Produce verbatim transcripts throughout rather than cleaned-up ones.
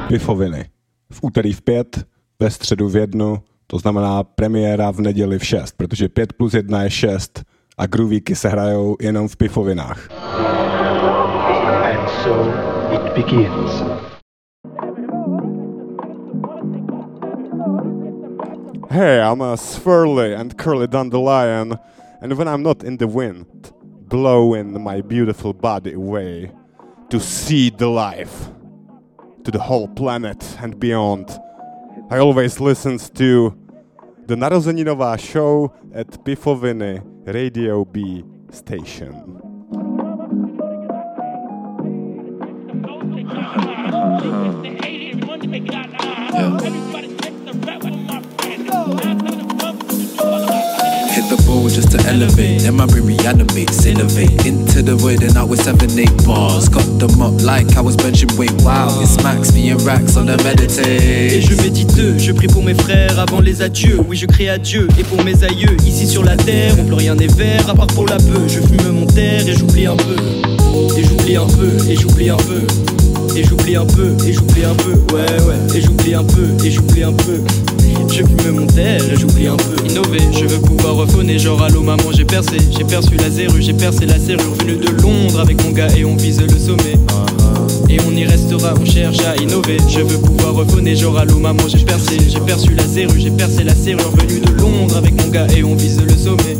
Pifoviny. V úterý v pět, ve středu v jednu, to znamená premiéra v neděli v šest, protože pět plus jedna je šest a groovíky se hrajou jenom v Pifovinách. And so it begins. Hey, I'm a Swirly and Curly Dandelion, and when I'm not in the wind, blowing my beautiful body away to see the life, to the whole planet and beyond, I always listen to the narozeninová show at Pifoviny Radio B station. Hit the ball just to elevate, then my brain reanimates, innovate into the void and out with seven, eight bars. Got them up like I was benching weight. Wow, it's Max, me and Rax on the meditate. Et je médite, je prie pour mes frères avant les adieux. Oui, je crie à Dieu et pour mes aïeux. Ici sur la terre, où plus rien n'est vert à part pour la peu. Je fume mon terre et j'oublie un peu. Et j'oublie un peu, et j'oublie un peu. Et j'oublie un peu, et j'oublie un peu. Ouais, ouais, et j'oublie un peu, et j'oublie un peu. Je fume mon terre et j'oublie un peu. Innover, je veux pouvoir refonner. Genre allô maman, j'ai percé. J'ai perçu la zérue, j'ai percé la serrure. Venu de Londres avec mon gars et on vise le sommet. Et on y restera, on cherche à innover. Je veux pouvoir refonner. Genre allô maman, j'ai percé. J'ai perçu la zérue, j'ai percé la serrure. Venu de Londres avec mon gars et on vise le sommet.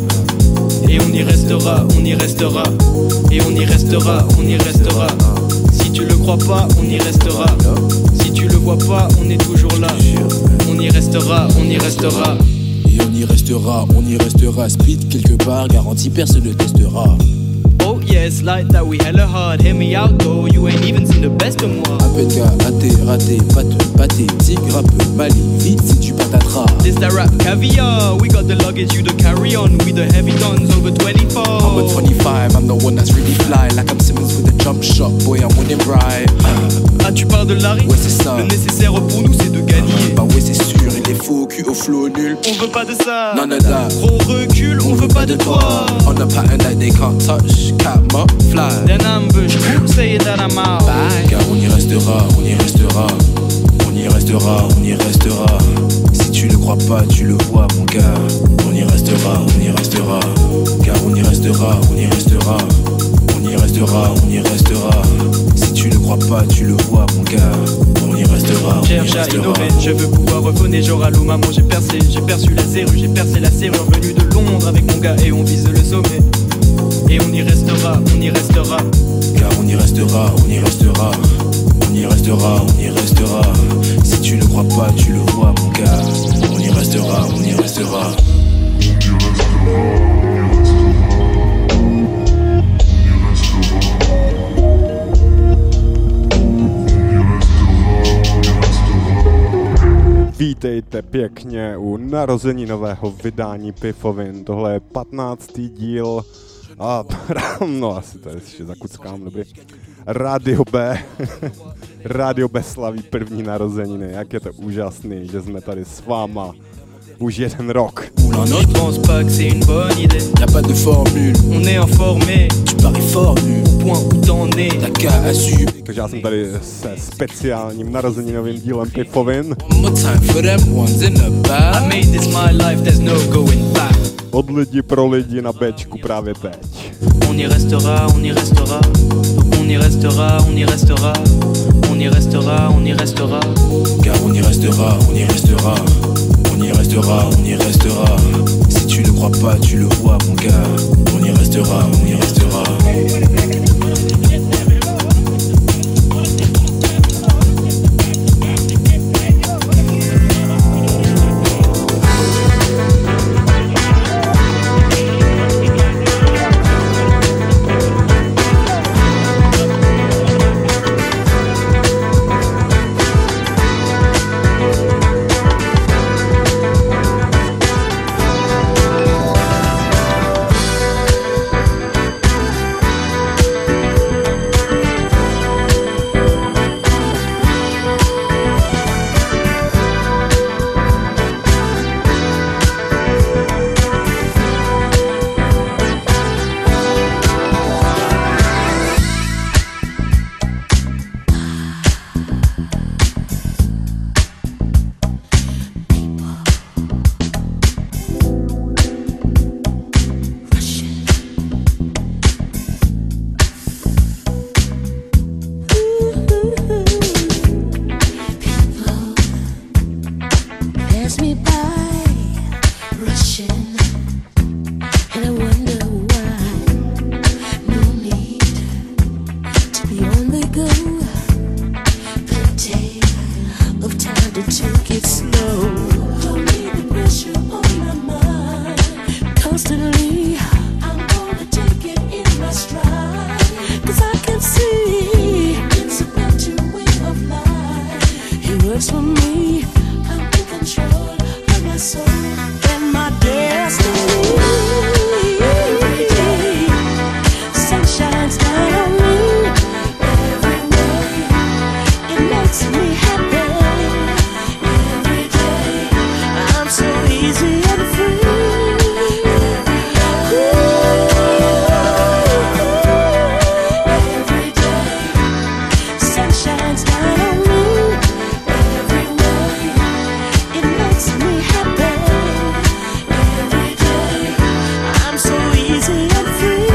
Et on y restera, on y restera. Et on y restera, on y restera. Si tu le crois pas, on y restera. Si tu le vois pas, on est toujours là. On y restera, on y restera. Et on y restera, on y restera. Speed quelque part, garantie personne ne testera. Oh yes, like that we hella hard. Hear me out though, you ain't even seen the best of moi. Un peu de gars, raté, raté, pâteux, pâté, tigre, rappeux, Mali, vite si tu patatras. This that rap caviar, we got the luggage, you the carry on. We the heavy guns over twenty-four. I'm a twenty-five, I'm the one that's really fly. Like I'm Simmons with a jump shot, boy I'm winning right. Ah tu parles de Larry? Ouais c'est ça. Le nécessaire pour nous c'est de gagner. Bah ouais c'est sûr, il est faux, cul au flow nul. On veut pas de ça. None of that. Gros recul, on veut pas de toi. On a pattern that they can't touch, cap up, fly. Then ambush, who say that I'm out? Bye. Car on y restera, on y restera. On y restera, on y restera. Si tu le crois pas, tu le vois mon gars. On y restera, on y restera. Car on y restera, on y restera. On y restera, on y restera. Si tu le crois pas, tu le vois mon gars. On y restera, on y Cherche à restera. innover, je veux pouvoir refonner. Genre allô maman, j'ai percé. J'ai perçu la zérue, j'ai percé la serrure. Venu de Londres avec mon gars et on vise le sommet. Et on y restera, on y restera. Car on y restera, on y restera. On y restera, on y restera. Si tu ne crois pas, tu le vois mon gars. On y restera, on y restera. Vítejte pěkně u narozeninového vydání Pifovin. Tohle je patnáctý díl a no asi tady ještě zakuckám, dobrý. Radio B, Radio B slaví první narozeniny, jak je to úžasný, že jsme tady s váma už jeden rok. Je pense pas que c'est une bonne idée. Y'a pas de formule, On est informé, tu paries fort nu. au point où t'en es. T'as qu'à assumer. Takže já jsem tady se speciálním narozeninovým dílem Pifovin. One more time for them ones in the I back. made this my life, there's no going back. Od lidi pro lidi na Bčku právě teď. On y restera, on y restera. On y restera, on y restera. On y restera, on y restera. Car on y restera, on y restera. On y restera, on y restera. Si tu ne crois pas, tu le vois mon gars. On y restera, on y restera. to take it slow. Don't need the pressure on my mind. Constantly, I'm gonna take it in my stride. Cause I can see it's a better way of life. It works for me. I'm in control of my soul and my destiny. Every day, sun shines down on me. Every way, it makes me happy. Every day, I'm so easy and free. Every day, sun shines down on me. Every way, it makes me happy. Every day, I'm so easy and free.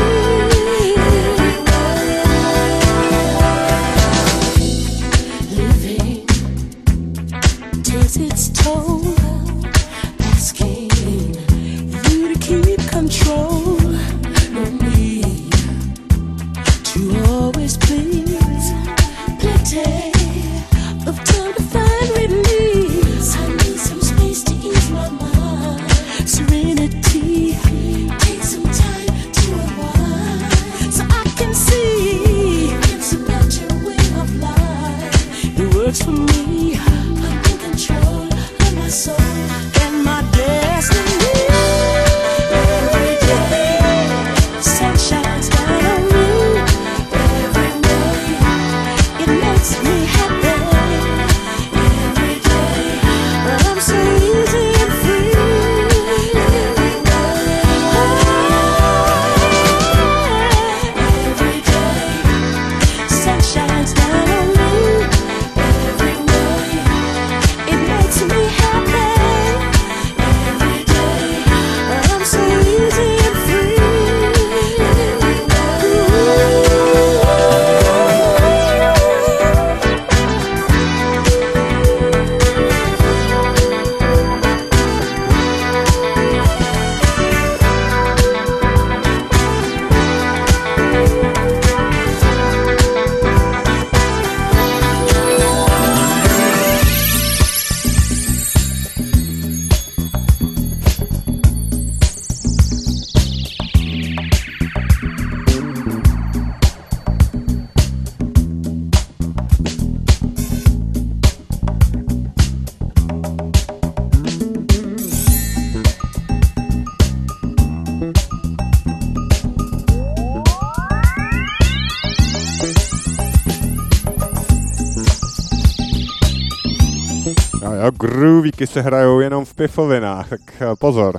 Living takes its toll, asking you to keep control of me, to always please. Plenty of time to find release. I need some space to ease my mind. Serenity, take some time to unwind, so I can see it's a better way of life. It works for me. I'm in control of my soul and my destiny. Every day, sun shines down on me. Every way, it makes me happy. Every day, I'm so easy and free. Every day, sun shines down on me. Every way, it makes me happy. Every day, I'm so easy and free. Jo, jo, groovíky se hrajou jenom v pifovinách, tak eh, pozor.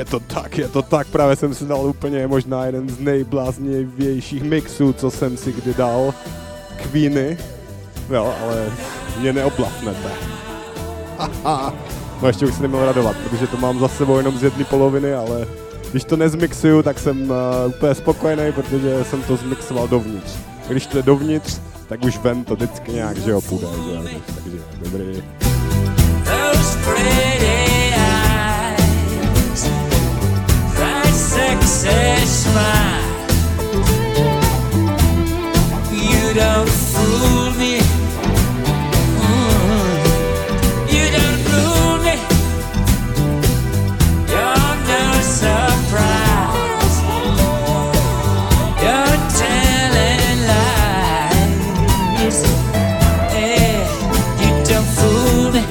to tak, je to tak, právě jsem si dal úplně možná jeden z nejbláznivějších mixů, co jsem si kdy dal. Queeny, jo, ale mě neoblafnete. Haha, no ještě už se neměl radovat, protože to mám za sebou jenom z jedné poloviny, ale když to nezmixuju, tak jsem uh, úplně spokojený, protože jsem to zmixoval dovnitř. Když to je dovnitř, tak už ven to vždycky nějak, že jo, půjde, že jo, takže dobrý. Those pretty eyes, that sexy smile, you don't fool me, mm. You don't fool me, you're no surprise, you're telling lies, yeah, you don't fool me.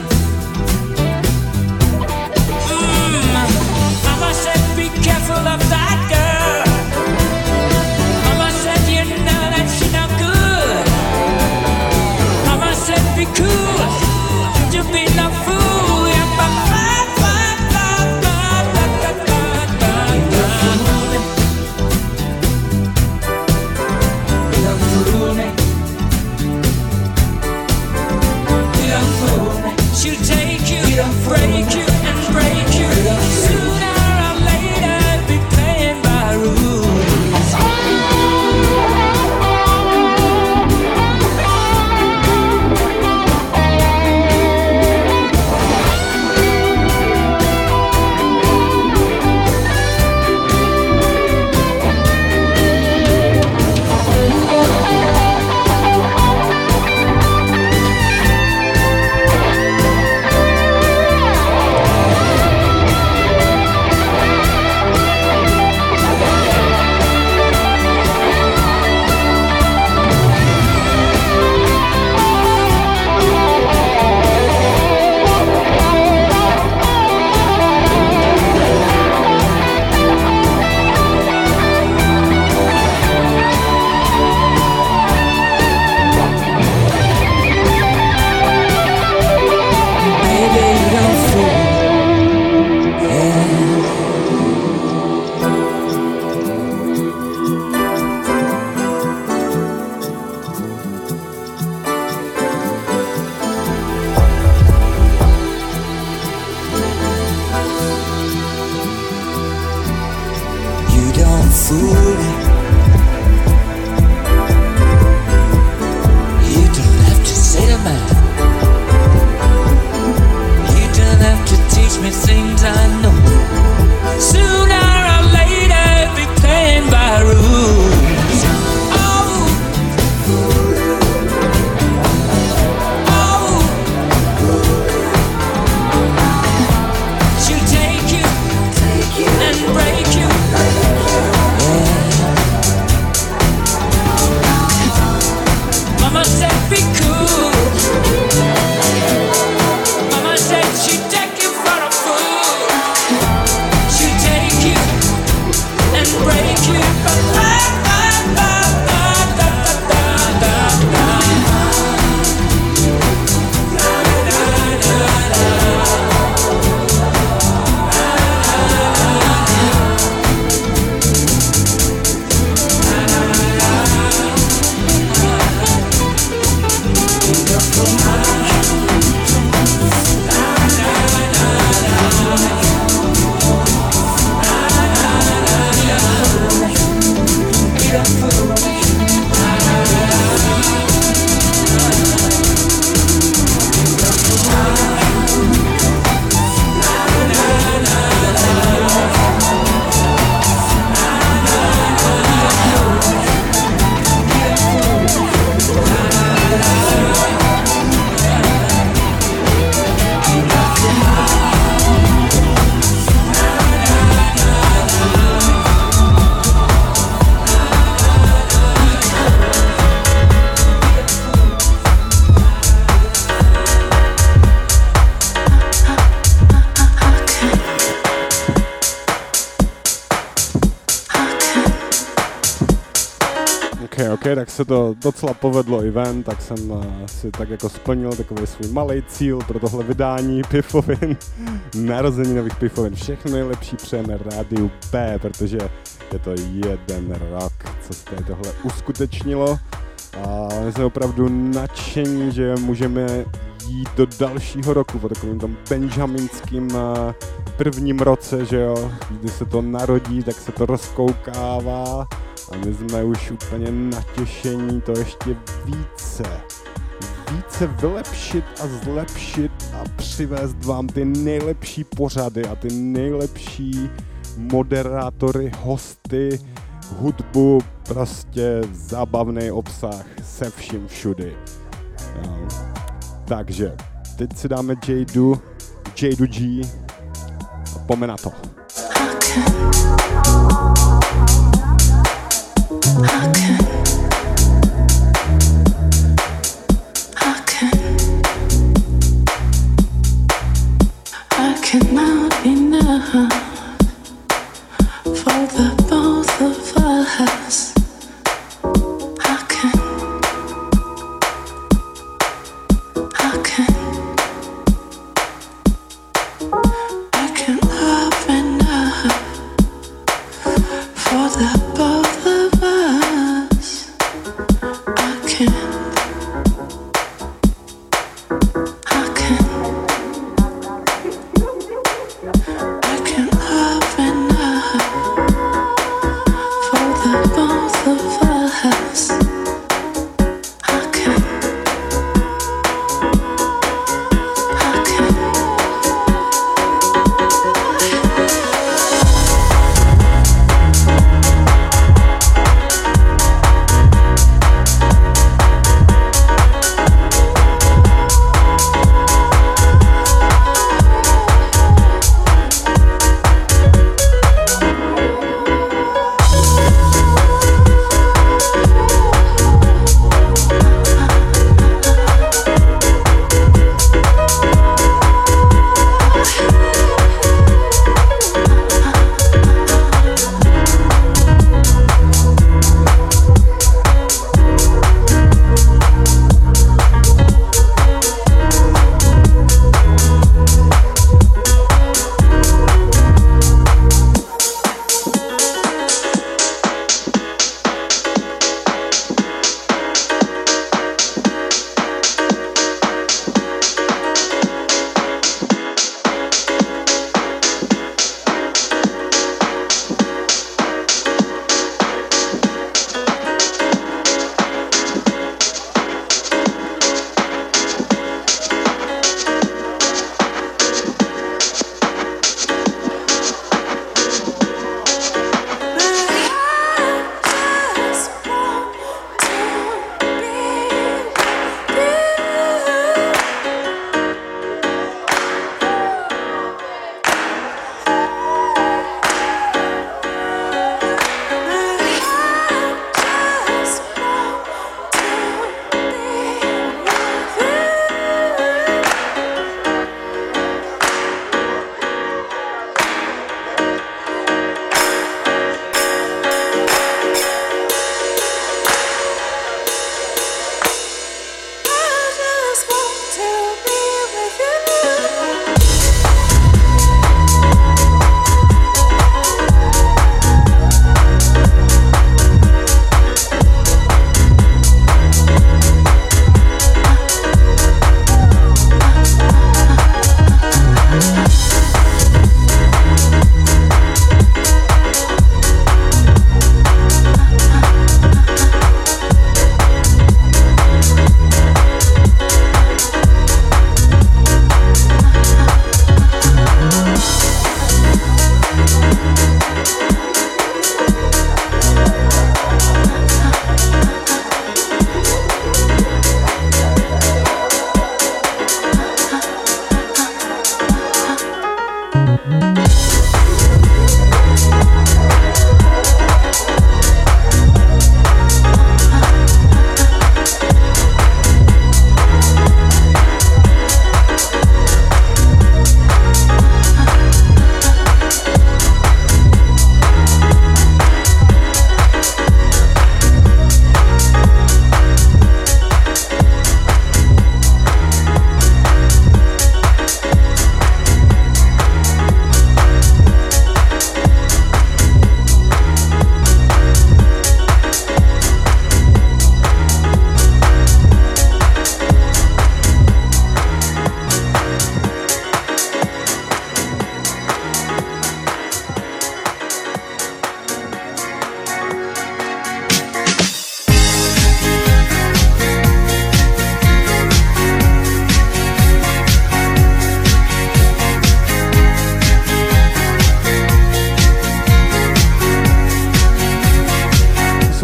Mama said be careful of that girl. Mama said you know that she no good. Mama said be cool, you be no fool. Yeah, ba ba ba ba ba ba ba ba ba. You don't fool me. You don't fool me. She'll take you, break you, and break you. Sooner or later, be playing by rules. She'll take you and break you. Yeah. OK, OK, tak se to docela povedlo i ven, tak jsem uh, si tak jako splnil takový svůj malý cíl pro tohle vydání Pifovin, narozeninových Pifovin. Všechno nejlepší přejeme Rádiu B, protože je to jeden rok, co se tady tohle uskutečnilo. A my jsme opravdu nadšení, že můžeme jít do dalšího roku po takovým tom benjaminským uh, prvním roce, že jo, když se to narodí, tak se to rozkoukává. A my jsme už úplně natěšení to ještě více, více vylepšit a zlepšit a přivést vám ty nejlepší pořady a ty nejlepší moderátory, hosty, hudbu, prostě zábavný obsah se vším všudy. Jo. Takže teď si dáme Jadu, Jadu G a pome na to. I can, I can, I cannot enough for the both of us. I can, I can, I can love enough for the both of us. I can, I can, I can love enough for the both of us. I can, I can.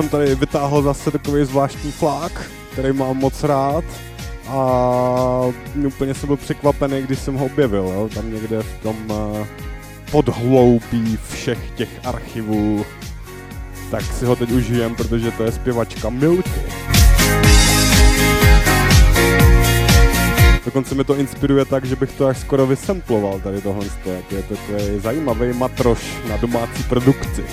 jsem tady vytáhl zase takový zvláštní flák, který mám moc rád. A úplně jsem byl překvapený, když jsem ho objevil, jo? Tam někde v tom uh, podhloubí všech těch archivů. Tak si ho teď užijem, protože to je zpěvačka Milky. Dokonce mi to inspiruje tak, že bych to až skoro vysamploval tady tohle. Je to takový zajímavý matroš na domácí produkci.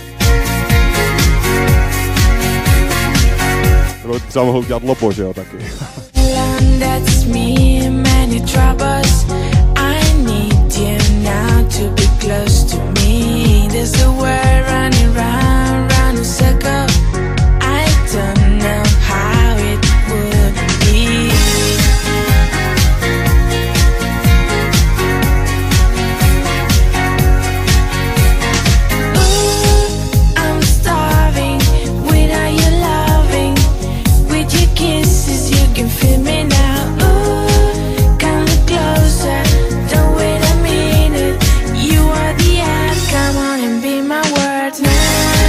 To by třeba mohl udělat Lobo, že jo, taky. That's me, many troubles. I need you now to be close to me. There's a world running round, round a circle. I don't know how it would be. Ooh, I'm starving without your loving. With your kisses, you can feel me now. Come on and be my words now.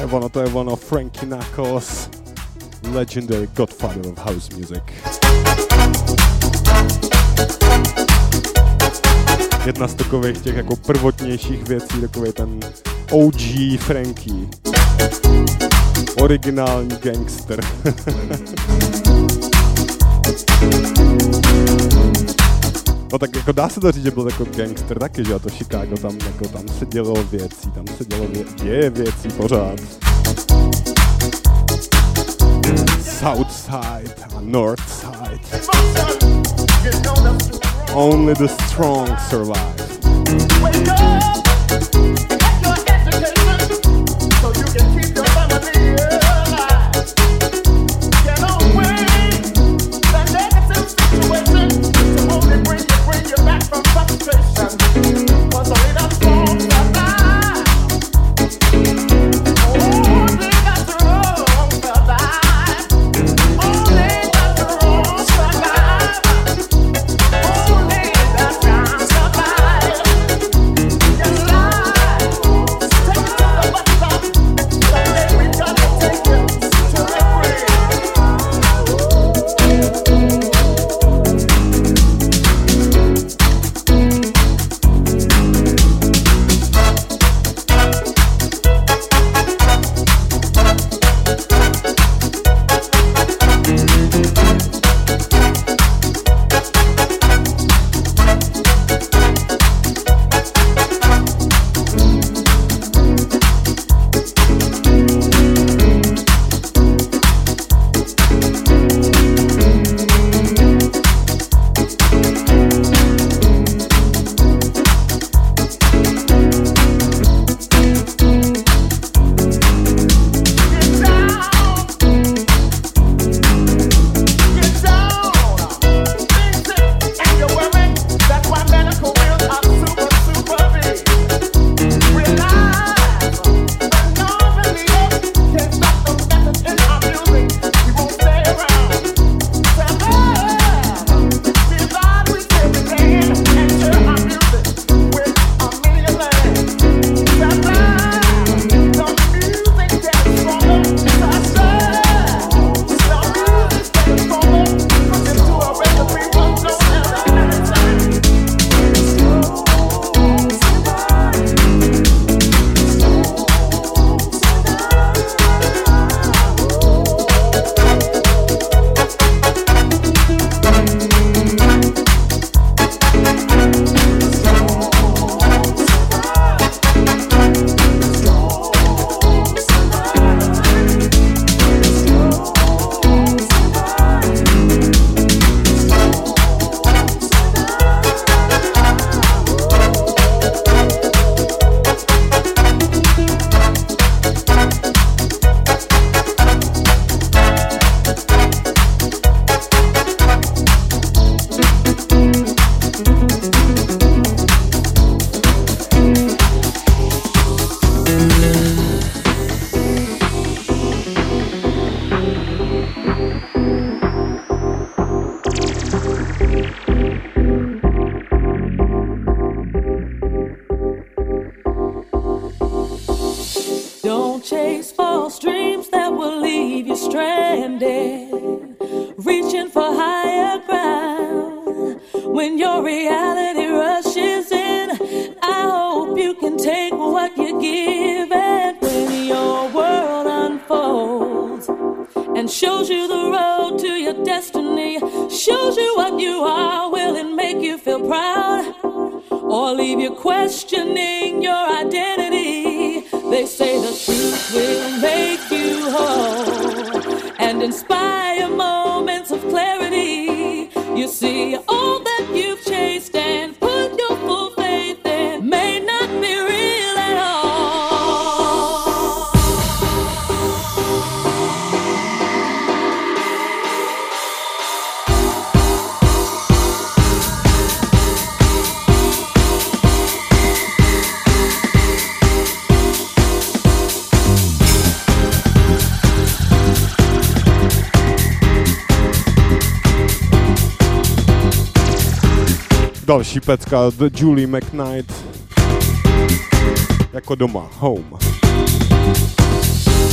ono, to je ono, Frankie Knuckles, legendary godfather of house music. Jedna z takových těch jako prvotnějších věcí, takový ten O G Frankie. Originální gangster. No tak jako dá se to říct, že byl jako gangster taky, že a to Chicago, tam, jako, tam se dělo věcí, tam se dělo vě- děje věcí pořád. South side a north side. Only the strong survive. Další pecka od Julie McKnight. Jako doma, home.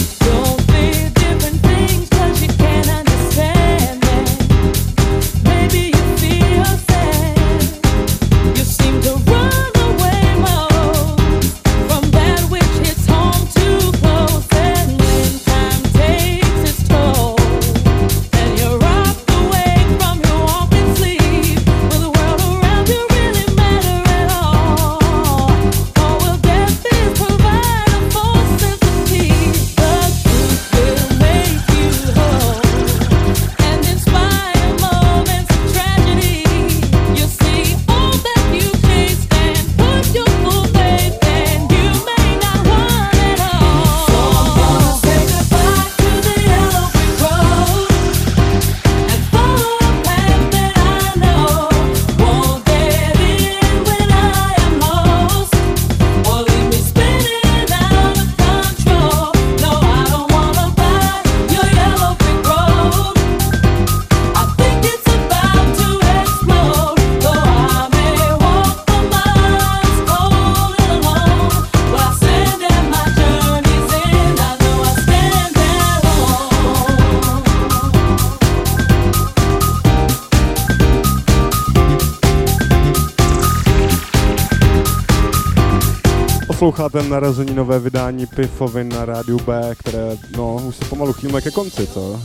Posloucháte narozeninové vydání Pifovin na rádiu B, které, no, už se pomalu chýlíme ke konci, co?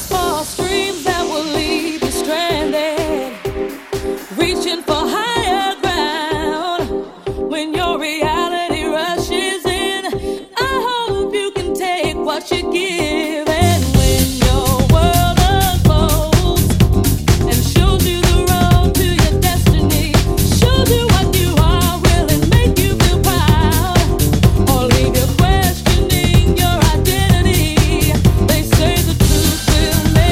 What you give. Will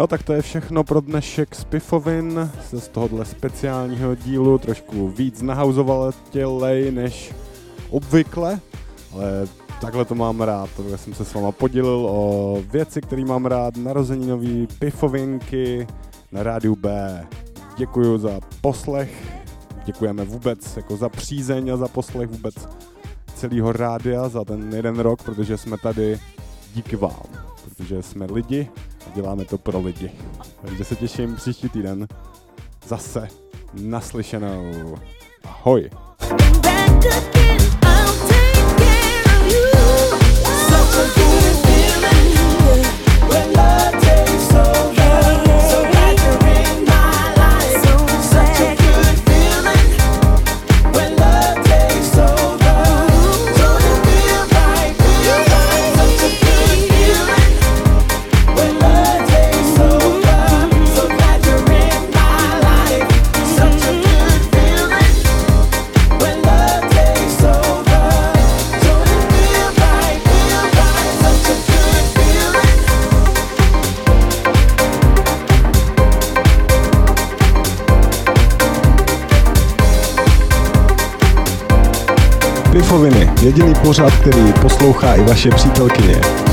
Jo, tak to je všechno pro dnešek z Pifovin, z tohohle speciálního dílu, trošku víc nahauzovatělej než obvykle, ale takhle to mám rád, protože jsem se s váma podělil o věci, které mám rád, narozeninový Pifovinky na rádiu B. Děkuju za poslech, děkujeme vůbec jako za přízeň a za poslech vůbec celého rádia za ten jeden rok, protože jsme tady díky vám, protože jsme lidi a děláme to pro lidi. Takže se těším příští týden zase naslyšenou. Ahoj! Pifoviny, jediný pořad, který poslouchá i vaše přítelkyně.